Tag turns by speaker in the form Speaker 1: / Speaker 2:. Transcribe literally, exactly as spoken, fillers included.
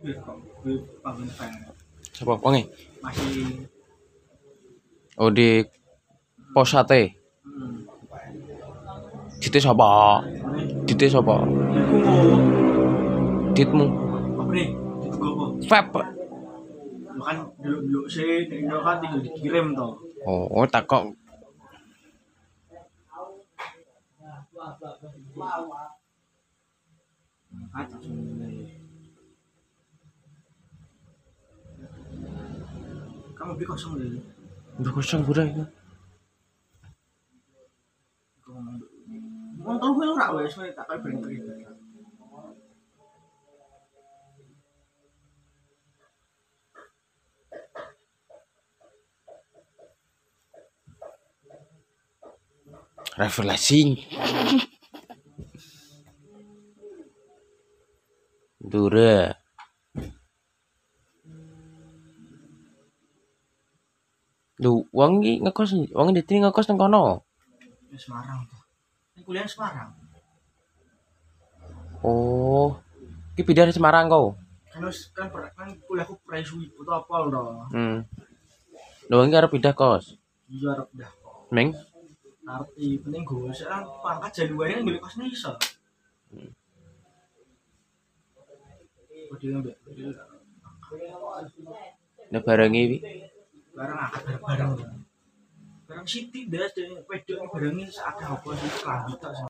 Speaker 1: Wih kok wih panggon fan.
Speaker 2: Sapa wonge?
Speaker 1: Masih
Speaker 2: Oh di pos sate.
Speaker 1: hmm.
Speaker 2: Dite sapa?
Speaker 1: Ini
Speaker 2: Dite sapa?
Speaker 1: iku
Speaker 2: Ditmu.
Speaker 1: apa nih? Itu apa?
Speaker 2: Vape.
Speaker 1: Lo kan dulu-dulu sih nek Indo kan tinggal dikirim toh.
Speaker 2: Oh, takok.
Speaker 1: Kata sebenarnya. Kamu beli kosong deh.
Speaker 2: Udah kosong udah itu.
Speaker 1: Mau telu melu rak wes tak kali bring-bring.
Speaker 2: Refreshing. Dure. Lu wong iki ngekos, wong di ngekos nang kono.
Speaker 1: Di Semarang tuh. Ini kuliah di Semarang.
Speaker 2: Oh, iki pindah di Semarang kau.
Speaker 1: Kan wis kan per- kan kuliahku presuwi atau apa loh.
Speaker 2: Hmm. Lu wong iki arep pindah kos.
Speaker 1: Iya arep dah.
Speaker 2: Meng.
Speaker 1: Arep i penting gue sekarang pangkat Januari kan beli kosnya iso. Kok dia ngambil
Speaker 2: Nek barengi iki
Speaker 1: barang akad barang barang. Barang Siti das dan wedok barangnya seakeh apa sih kelambi tok.